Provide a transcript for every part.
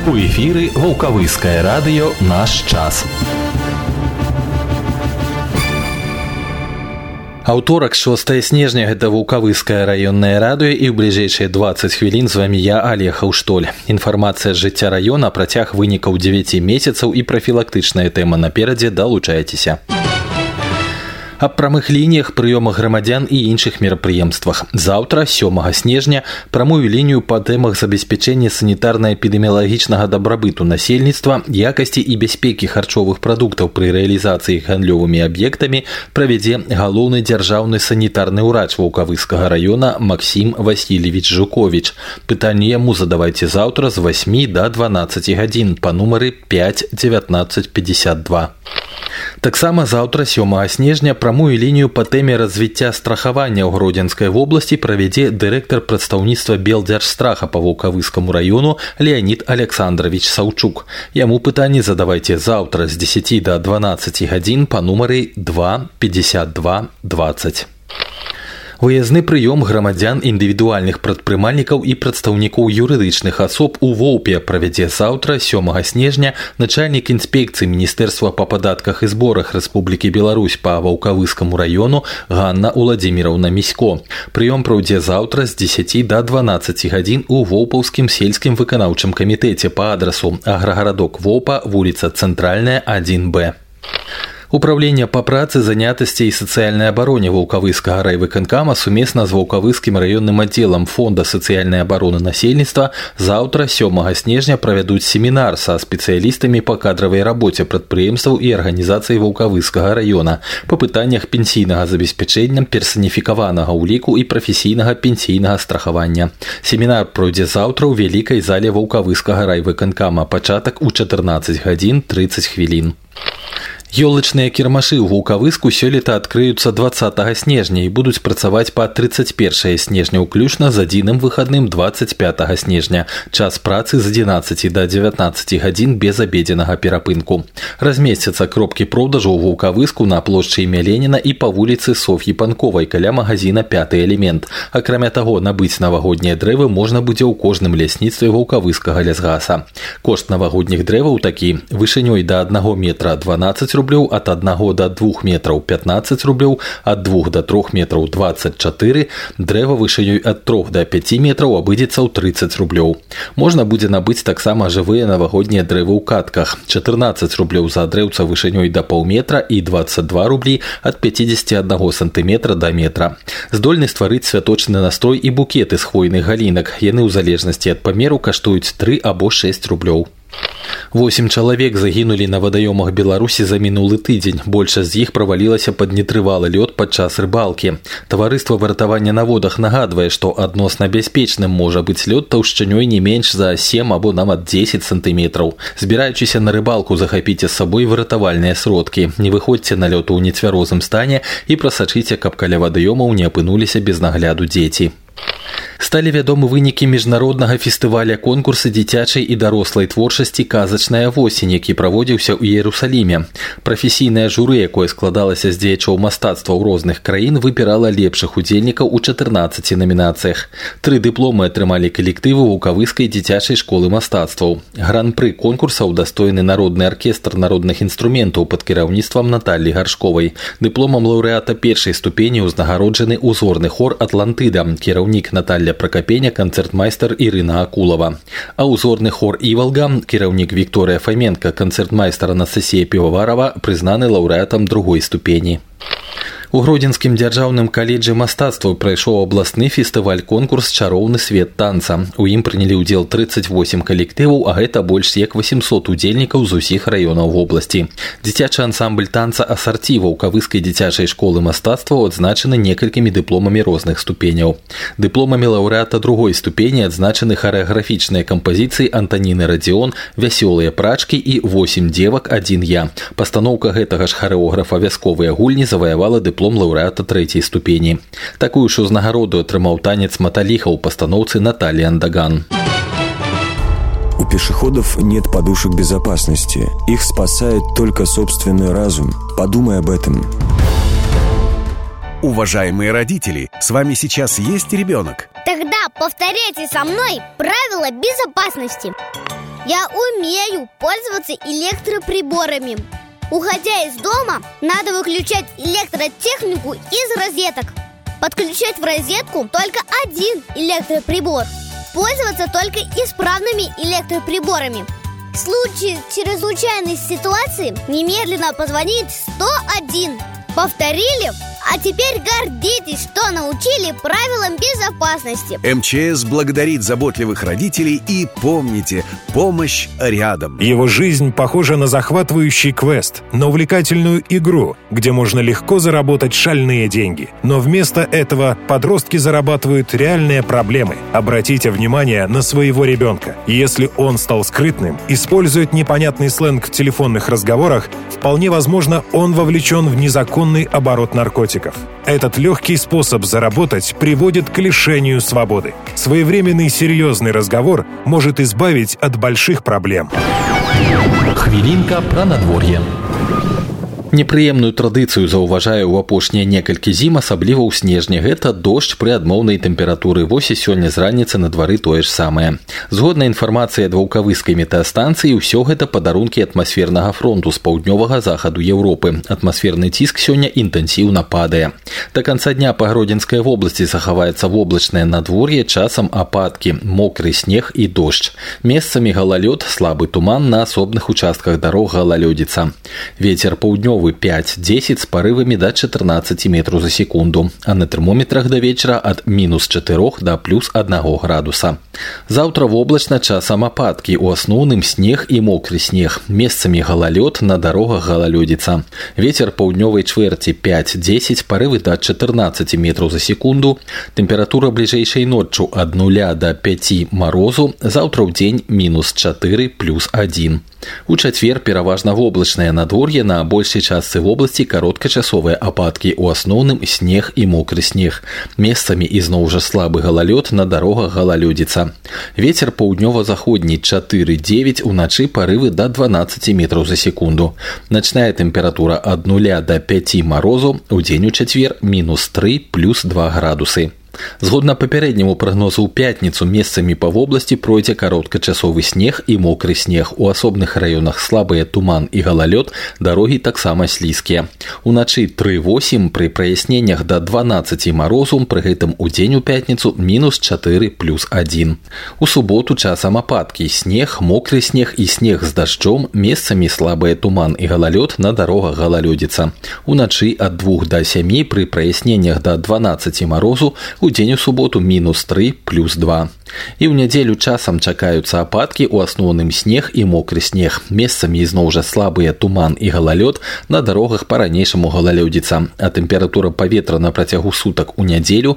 У эфіры Ваўкавыскае радыё «Наш час». Аўторак, 6 снежня, гэта Ваўкавыскае раённае радыё, і ў бліжэйшыя 20 хвілін з вамі я, Олег Хаўштоль. Інфармацыя з жыцця раёна, працяг вынікаў 9 месяцаў і прафілактычная тэма наперадзе, далучайцеся. Аб прамых лініях, прыёмах грамадзян і іншых мерапрыемствах. Заўтра, 7 снежня, прамую лінію па тэмах забеспячэння санітарна-эпідэміялагічнага дабрабыту насельніцтва, якасці і бяспекі харчовых прадуктаў пры рэалізацыі гандлёвымі аб'ектамі правядзе галоўны дзяржаўны санітарны ўрач Ваўкавыскага раёна Максім Васильевич Жукович. Пытанні яму задавайце заўтра з 8 до 12 гадзін па нумары 5 19 52. Таксама заўтра, 7 снежня, прамую лінію па тэме развіцця страхавання ў Гродзенскай вобласці правядзе дырэктар прадстаўніцтва Белдзяржстраха па Ваўкавыскаму раёну Леонид Александрович Саўчук. Яму пытанні задавайце заўтра з 10 до 12 гадзін па нумары 2 52 20. Выязны прыём грамадзян, індывідуальных прадпрымальнікаў і прадстаўнікоў юрыдычных асоб у Воўпе правядзе заўтра, 7 снежня, начальнік інспекцыі Міністэрства па падатках і зборах Рэспублікі Беларусь па Ваўкавыскаму раёну Ганна Уладзіміраўна Місько. Прыём пройдзе заўтра з 10 до 12 гадзін у Воўпаўскім сельскім выканаўчым камітэце па адрасу Аграгарадок Воўпа, вуліца Цэнтральная, 1Б. Управление по працы, занятости и социальной обороне Ваўкавыскага райвыканкама сумесна з Ваўкавыскім раённым аддзелам Фонда сацыяльнай абароны насельніцтва заўтра, 7 снежня, правядуць семінар са спецыялістамі па кадравай рабоце прадпрыемстваў і арганізацый Ваўкавыскага раёна па пытаннях пенсійнага забеспячэння, персаніфікаванага ўліку і прафесійнага пенсійнага страхавання. Семінар пройдзе заўтра ў вялікай зале Ваўкавыскага райвыканкама, пачатак у 14 гадзін 30 хвілін. Ёлачныя кірмашы ў Ваўкавыску сёлета адкрыюцца 20 снежня і будуць працаваць па 31 снежня ўключна з адзіным выхадным 25 снежня. Час працы з 11 до 19 гадзін без абедзенага перапынку. Размесцяцца кропкі продажу ў Ваўкавыску на плошчы імя Леніна і па вуліцы Соф'і Панковай каля магазина «Пяты элемент». Акрамя таго, набыць навагоднія дрэвы можна будзе ў кожным лясніцтве Ваўкавыскага лясгаса. Кошт навагодніх дрэваў такі: вышынёй да 1 метра 12 рублёў, от 1 до 2 метров 15 рублёў, от 2 до 3 метров 24, дрэва вышынёй от 3 до 5 метров абыдзецца ў 30 рублёў. Можна будзе набыць таксама жывыя навагоднія дрэвы ў катках. 14 рублёў за дрэўца вышынёй до паўметра і 22 рублі от 51 сантиметра до метра. Здольны стварыць святочны настрой і букеты з хвойных галінак. Яны ў залежнасці ад памеру каштуюць 3 або 6 рублёў. 8 чалавек загінулі на вадаёмах Беларусі за мінулы тыдзень. Большасць з іх правалілася пад нетрывалы лёд падчас рыбалкі. Таварыства выратавання на водах нагадвае, што адносна бяспечным можа быць лёд таўшчынёй не менш за 7 або нават 10 сантыметраў. Збіраючыся на рыбалку, захапіце з сабой выратавальныя сродкі. Не выходзьце на лёд у нецвярозым стане і прасачыце, каб каля вадаёмаў не апынуліся без нагляду дзеці. Сталі вядомы вынікі міжнароднага фестываля конкурса дзіцячай і дарослай творчасці «Казачная восень», які праводзіўся ў Іерусаліме. Прафесійнае журы, якое складалася з дзеячоў мастацтва ў розных краін, выбірала лепшых удзельнікаў у 14 намінацыях. 3 дыпломы атрымалі калектывы Ваўкавыскай дзіцячай школы мастацтваў. Гран-пры конкурса ўдастоены народны аркестр народных інструментаў пад кіраўніцтвам Наталлі Гаршковай. Дыпломам лаўрэата першай ступені ўзнагароджаны узорны хор «Атлантыда», кіраўнік Наталья Прокопеня, канцэртмайстар Ірына Акулова. А узорны хор «Івалга», кіраўнік Вікторыя Фаменка, канцэртмайстар Анастасія Піваварова прызнаны лаўрэатам другой ступені. У Гродзенскім дзяржаўным каледжы мастацтваў прайшоў абласны фестываль-конкурс «Чароўны свет танца». У ім прынялі ўдзел 38 калектываў, а гэта больш як 800 удзельнікаў з усіх раёнаў вобласці. Дзіцячы ансамбль танца «Асарці» Ваўкавыскай дзіцячай школы мастацтваў адзначаны некалькімі дыпломамі розных ступеняў. Дыпломамі лаўрэата другой ступені адзначаны харэаграфічныя кампазіцыі Антаніны Радзіон, «Вясёлыя прачкі» і «8 дзевак, 1 я». Пастаноўка гэтага ж харэографа «Вясковыя гульні» заваявала дыплом лаўрэата трэцяй ступені. Такую ж узнагароду атрымаў танец «Маталіха» ў пастаноўцы Натальи Андаган. У пешеходов нет подушек безопасности. Их спасает только собственный разум. Подумай об этом. Уважаемые родители, с вами сейчас есть ребенок? Тогда повторяйте со мной правила безопасности. Я умею пользоваться электроприборами. Уходя из дома, надо выключать электротехнику из розеток. Подключать в розетку только один электроприбор. Пользоваться только исправными электроприборами. В случае чрезвычайной ситуации немедленно позвонить 101. Повторили? А теперь гордитесь, что научили правилам безопасности. МЧС благодарит заботливых родителей и помните, помощь рядом. Его жизнь похожа на захватывающий квест, на увлекательную игру, где можно легко заработать шальные деньги. Но вместо этого подростки зарабатывают реальные проблемы. Обратите внимание на своего ребенка. Если он стал скрытным, использует непонятный сленг в телефонных разговорах, вполне возможно, он вовлечен в незаконный оборот наркотиков. Этот легкий способ заработать приводит к лишению свободы. Своевременный серьезный разговор может избавить от больших проблем. Хвілінка пра надвор'е. Непрыемную традыцыю заўважаю ў апошнія некалькі зім, асабліва ў снежні. Гэта дождж пры адмоўнай тэмпературы. Вось і сёння з раніцы на двары тое ж самае. Згодна інфармацыі ад ваўкавыскай метэастанцыі, ўсё гэта падарункі атмасфернага фронту з паўднёвага захаду Еўропы. Атмасферны ціск сёння інтэнсіўна падае. Да канца дня па Гродзенскай вобласці захаваецца воблачнае надвор'е, часам ападкі, мокры снег і дождж. Месцамі галалёд, слабы туман, на асобных участках дарог галалёдзіца. Вецер паўднёвы 5-10 с порывами до 14 метров за секунду, а на термометрах до вечера от -4 до +1 градуса. Завтра воблачна, часам ападкі, у асноўным снег і мокры снег. Месцамі галалёд, на дарогах галалёдзіца. Ветер паўднёвай чвэрці 5-10, порывы до 14 метров за секунду. Температура бліжэйшай ноччу от 0 до 5 морозу, завтра ў дзень -4 +1. У чацвер пераважна воблачнае надвор'е, на большай частцы вобласці кароткачасовыя ападкі, у асноўным снег і мокры снег. Месцамі ізноў жа слабы галалёд, на дарогах галалёдзіца. Вецер паўднёва-заходні 4-9, уначы порывы до 12 метров за секунду. Начная температура от 0 до 5 морозу, у дзень у чацвер -3 +2 градусы. Згодна папярэдняму прагнозу ў пятніцу месцамі па вобласці пройдзе кароткачасовы снег і мокры снег. У асобных раёнах слабыя туман і галалёд, дарогі таксама слізкія. Уначы 3-8, пры праясненнях до 12 морозу, пры гэтым у дзень у пятніцу -4 +1. У суботу часам ападкі, снег, мокры снег і снег з дажджом, месцамі слабыя туман і галалёд, на дарогах галалёдзіца. Уначы ад 2 до 7, пры праясненнях до 12 морозу, у дзень у суботу -3 +2. І ў нядзелю часам чакаюцца ападкі, у асноўным снег і мокры снег. Месцамі ізноў жа слабыя туман і галалёд, на дарогах па-ранейшаму галалёдзіца. А тэмпература паветра на працягу сутак у нядзелю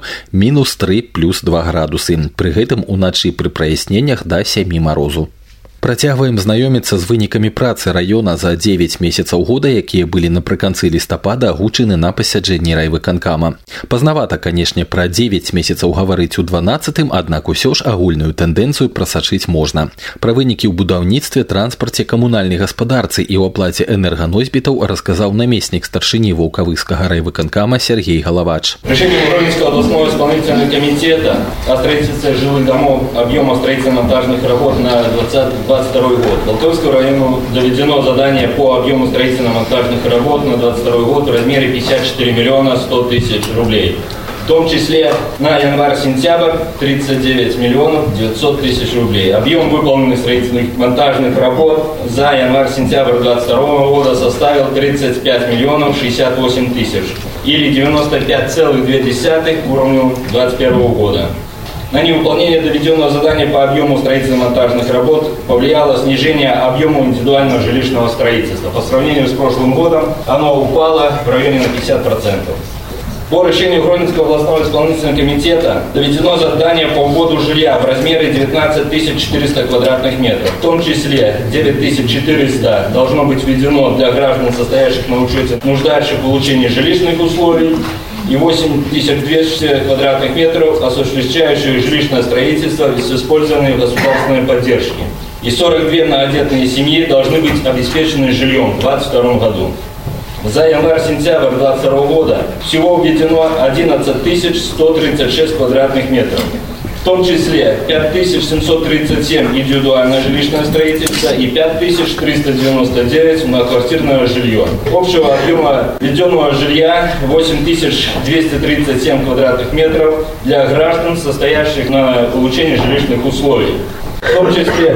-3 +2 градусы. Пры гэтым уначы пры праясненнях до 7 морозу. Працягваем знаёміцца з вынікамі працы раёна за 9 месяцаў года, якія былі напрыканцы лістапада агучаны на пасяджэнні райвыканкама. Пазнавата, канешне, пра 9 месяцаў гаварыць у 12-м, аднак усё ж агульную тэндэнцыю прасачыць можна. Пра вынікі ў будаўніцтве, транспарце, камунальнай гаспадарцы і ў аплаце энерганосьбітаў расказаў намеснік старшыні Ваўкавыскага райвыканкама Сергей Головач. Решением Гродненского областного исполнительного комитета о строительстве жилых домов объема строительно-монтажных работ на 2022 год. Волковскому району доведено задание по объему строительно-монтажных работ на 2022 год в размере 54 миллиона 100 тысяч рублей. В том числе на январь-сентябрь 39 миллионов 900 тысяч рублей. Объем выполненных строительных монтажных работ за январь-сентябрь 2022 года составил 35 миллионов 68 тысяч или 95,2 к уровню 2021 года. На невыполнение доведенного задания по объему строительно-монтажных работ повлияло снижение объема индивидуального жилищного строительства. По сравнению с прошлым годом оно упало в районе на 50%. По решению Гродненского областного исполнительного комитета доведено задание по вводу жилья в размере 19 400 квадратных метров. В том числе 9 400 должно быть введено для граждан, состоящих на учете, нуждающих в получении жилищных условий, и 8200 квадратных метров, осуществляющих жилищное строительство с использованием государственной поддержки. И 42 многодетные семьи должны быть обеспечены жильем в 2022 году. За январь-сентябрь 2022 года всего введено 11 136 квадратных метров. В том числе 5737 индивидуальное жилищное строительство и 5399 многоквартирное жилье. Общего объема введенного жилья 8237 квадратных метров для граждан, состоящих на получении жилищных условий. В том числе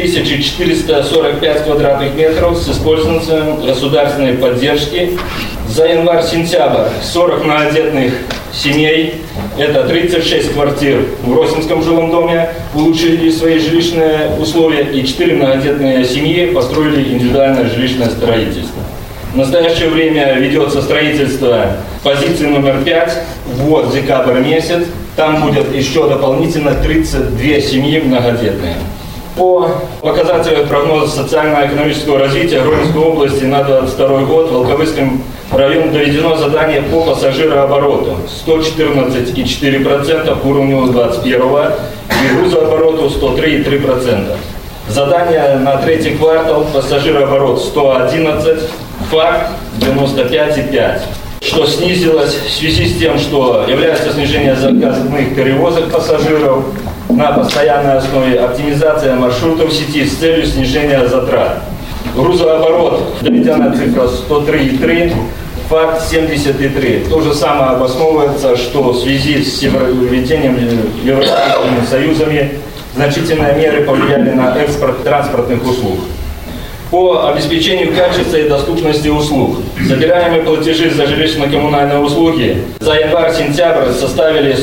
4445 квадратных метров с использованием государственной поддержки. За январь-сентябрь 40 многодетных семей, это 36 квартир в Росинском жилом доме, улучшили свои жилищные условия, и 4 многодетные семьи построили индивидуальное жилищное строительство. В настоящее время ведется строительство позиции номер 5, вот декабрь месяц. Там будет еще дополнительно 32 семьи многодетные. По показателям прогноза социально-экономического развития Гродненской области на 2022 год в Волковыском районе доведено задание по пассажирообороту 114,4% к уровню 2021 и грузообороту 103,3%. Задание на третий квартал пассажирооборот 111, факт 95,5%. Что снизилось в связи с тем, что является снижение заказных перевозок пассажиров на постоянной основе, оптимизация маршрутов в сети с целью снижения затрат. Грузооборот, доведенная цифра 103,3, факт 70,3. То же самое обосновывается, что в связи с введением Европейскими союзами значительные меры повлияли на экспорт транспортных услуг. По обеспечению качества и доступности услуг. Собираемые платежи за жилищно-коммунальные услуги за январь-сентябрь составили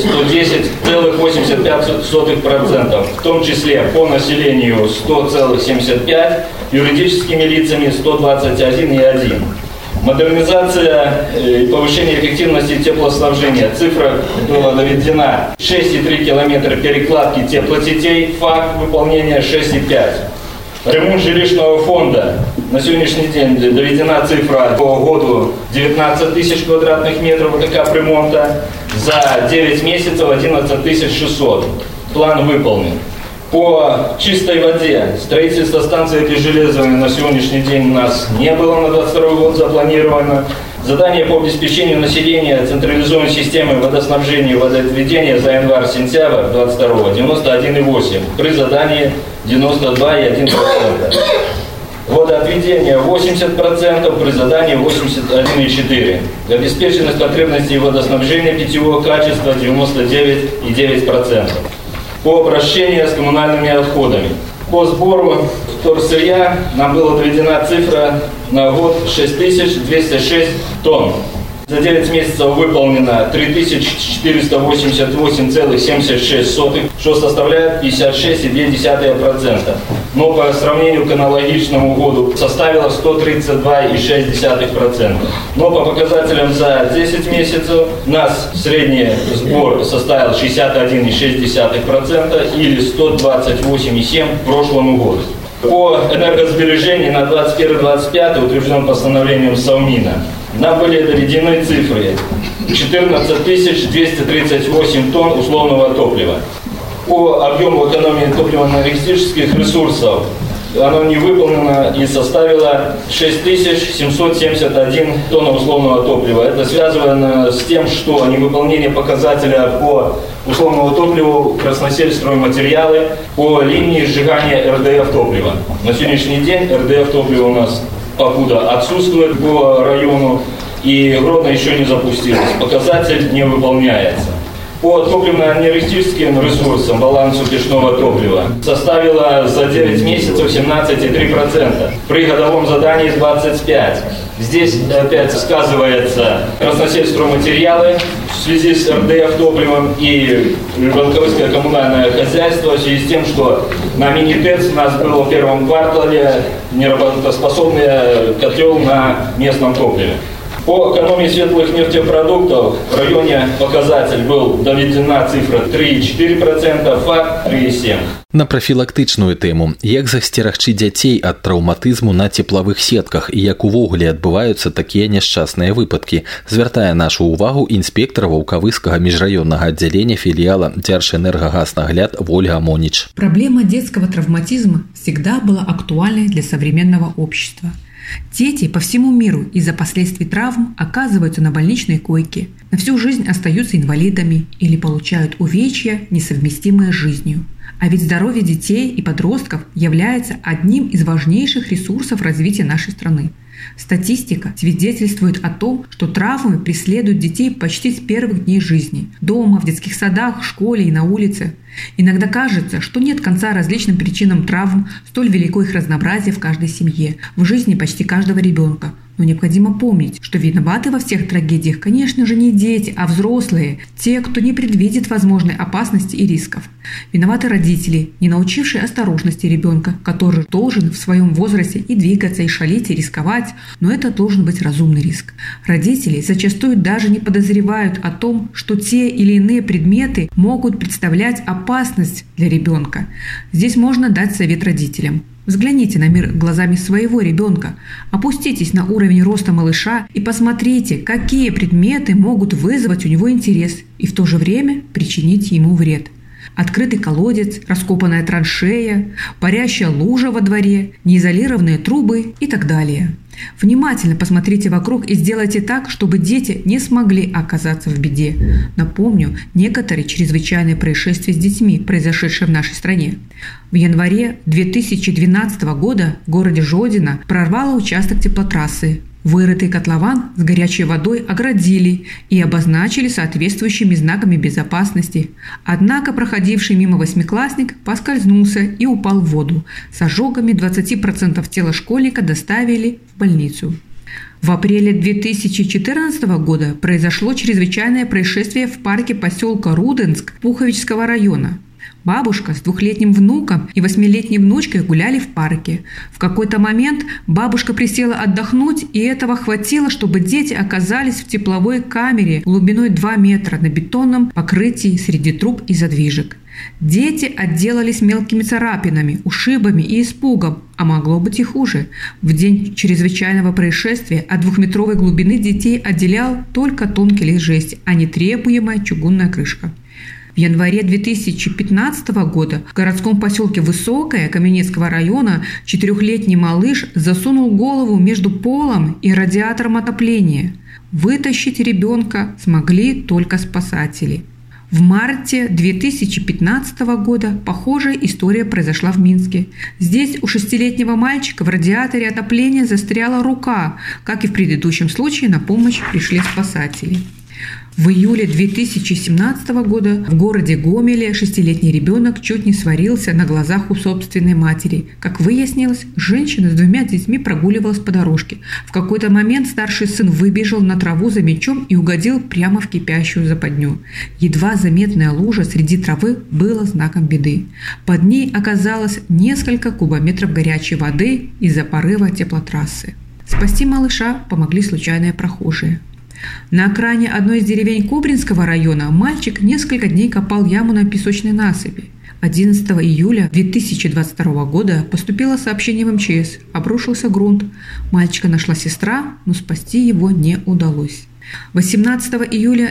110,85%, в том числе по населению 100,75%, юридическими лицами 121,1%. Модернизация и повышение эффективности теплоснабжения. Цифра была доведена 6,3 километра перекладки теплосетей, факт выполнения 6,5. Ремонт жилищного фонда. На сегодняшний день доведена цифра по году 19 тысяч квадратных метров капремонта. За 9 месяцев 11 600. План выполнен. По чистой воде. Строительство станции Пережелезовой на сегодняшний день у нас не было на 2022 год запланировано. Задание по обеспечению населения централизованной системой водоснабжения и водоотведения за январь-сентябрь 22 91,8. При задании 92,1%. Водоотведение 80%, при задании 81,4%. Обеспеченность потребностей водоснабжения питьевого качества 99,9%. По обращению с коммунальными отходами. По сбору вторсырья нам была доведена цифра на год 6206 тонн. За 9 месяцев выполнено 3488,76, что составляет 56,2%. Но по сравнению к аналогичному году составило 132,6%. Но по показателям за 10 месяцев у нас средний сбор составил 61,6% или 128,7% к прошлому году. По энергосбережению на 21-25 утвержденным постановлением Совмина нам были доведены цифры 14 238 тонн условного топлива. По объему экономии топливно-энергетических ресурсов оно не выполнено и составило 6771 тонн условного топлива. Это связано с тем, что невыполнение показателя по условному топливу красносельстройматериалы по линии сжигания РДФ топлива. На сегодняшний день РДФ топлива у нас покуда отсутствует по району, и Гродно еще не запустилось. Показатель не выполняется. По топливно-энергетическим ресурсам балансу печного топлива составила за 9 месяцев 17,3%. При годовом задании 25%. Здесь опять сказывается красносельстройматериалы в связи с РДФ топливом и Волковыское коммунальное хозяйство в связи с тем, что на мини-ТЭЦ у нас был в первом квартале неработоспособный котел на местном топливе. По экономии светлых нефтепродуктов в районе показатель был доведена цифра 3,4%, факт 3,7%. На прафілактычную тэму, як засцерагчы дзяцей ад траўматызму на цеплавых сетках і як увогуле адбываюцца такія няшчасныя выпадкі, звяртае нашу ўвагу інспектор Волковыскага межрайонного отделения филиала Держэнергагазнагляд Ольга Монич. Проблема детского травматизма всегда была актуальной для современного общества. Дети по всему миру из-за последствий травм оказываются на больничной койке, на всю жизнь остаются инвалидами или получают увечья, несовместимые с жизнью. А ведь здоровье детей и подростков является одним из важнейших ресурсов развития нашей страны. Статистика свидетельствует о том, что травмы преследуют детей почти с первых дней жизни – дома, в детских садах, в школе и на улице. Иногда кажется, что нет конца различным причинам травм, столь велико их разнообразие в каждой семье, в жизни почти каждого ребенка. Но необходимо помнить, что виноваты во всех трагедиях, конечно же, не дети, а взрослые, те, кто не предвидит возможной опасности и рисков. Виноваты родители, не научившие осторожности ребенка, который должен в своем возрасте и двигаться, и шалить, и рисковать, но это должен быть разумный риск. Родители зачастую даже не подозревают о том, что те или иные предметы могут представлять опасность для ребенка. Здесь можно дать совет родителям. Взгляните на мир глазами своего ребенка, опуститесь на уровень роста малыша и посмотрите, какие предметы могут вызвать у него интерес и в то же время причинить ему вред. Открытый колодец, раскопанная траншея, парящая лужа во дворе, неизолированные трубы и так далее. Внимательно посмотрите вокруг и сделайте так, чтобы дети не смогли оказаться в беде. Напомню, некоторые чрезвычайные происшествия с детьми, произошедшие в нашей стране. В январе 2012 года в городе Жодино прорвало участок теплотрассы. Вырытый котлован с горячей водой оградили и обозначили соответствующими знаками безопасности. Однако проходивший мимо восьмиклассник поскользнулся и упал в воду. С ожогами 20% тела школьника доставили в больницу. В апреле 2014 года произошло чрезвычайное происшествие в парке поселка Руденск Пуховичского района. Бабушка с 2-летним внуком и 8-летней внучкой гуляли в парке. В какой-то момент бабушка присела отдохнуть, и этого хватило, чтобы дети оказались в тепловой камере глубиной 2 метра на бетонном покрытии среди труб и задвижек. Дети отделались мелкими царапинами, ушибами и испугом, а могло быть и хуже. В день чрезвычайного происшествия от 2-метровой глубины детей отделял только тонкий лист жести, а не требуемая чугунная крышка. В январе 2015 года в городском поселке Высокое Каменецкого района 4-летний малыш засунул голову между полом и радиатором отопления. Вытащить ребенка смогли только спасатели. В марте 2015 года похожая история произошла в Минске. Здесь у 6-летнего мальчика в радиаторе отопления застряла рука. Как и в предыдущем случае, на помощь пришли спасатели. В июле 2017 года в городе Гомеле 6-летний ребенок чуть не сварился на глазах у собственной матери. Как выяснилось, женщина с 2 детьми прогуливалась по дорожке. В какой-то момент старший сын выбежал на траву за мячом и угодил прямо в кипящую западню. Едва заметная лужа среди травы была знаком беды. Под ней оказалось несколько кубометров горячей воды из-за порыва теплотрассы. Спасти малыша помогли случайные прохожие. На окраине одной из деревень Кобринского района мальчик несколько дней копал яму на песочной насыпи. 11 июля 2022 года поступило сообщение в МЧС. Обрушился грунт. Мальчика нашла сестра, но спасти его не удалось. 18 июля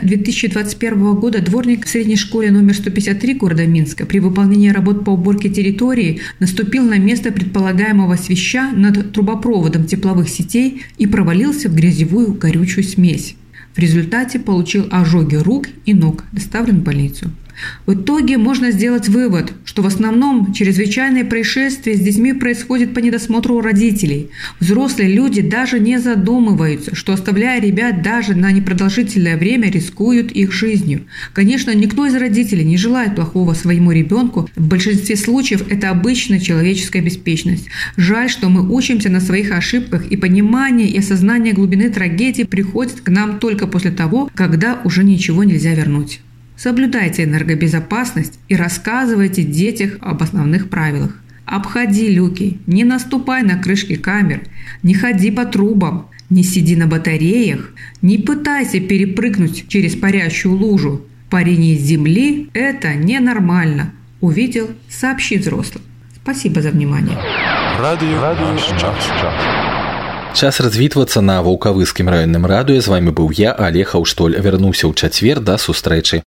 2021 года дворник в средней школе номер 153 города Минска при выполнении работ по уборке территории наступил на место предполагаемого свища над трубопроводом тепловых сетей и провалился в грязевую горючую смесь. В результате получил ожоги рук и ног, доставлен в больницу. В итоге можно сделать вывод, что в основном чрезвычайные происшествия с детьми происходят по недосмотру родителей. Взрослые люди даже не задумываются, что, оставляя ребят даже на непродолжительное время, рискуют их жизнью. Конечно, никто из родителей не желает плохого своему ребенку. В большинстве случаев это обычная человеческая беспечность. Жаль, что мы учимся на своих ошибках, и понимание и осознание глубины трагедии приходит к нам только после того, когда уже ничего нельзя вернуть. Соблюдайте энергобезопасность и рассказывайте детям об основных правилах. Обходи люки, не наступай на крышки камер, не ходи по трубам, не сиди на батареях, не пытайся перепрыгнуть через парящую лужу. Парение с земли – это ненормально. Увидел – сообщи взрослым. Спасибо за внимание. Час развітвацца на ваўкавыскім раённым радыё. З вами быў я, Олег Хаўштоль. Вярнуўся ў чацвер, да сустрэчы.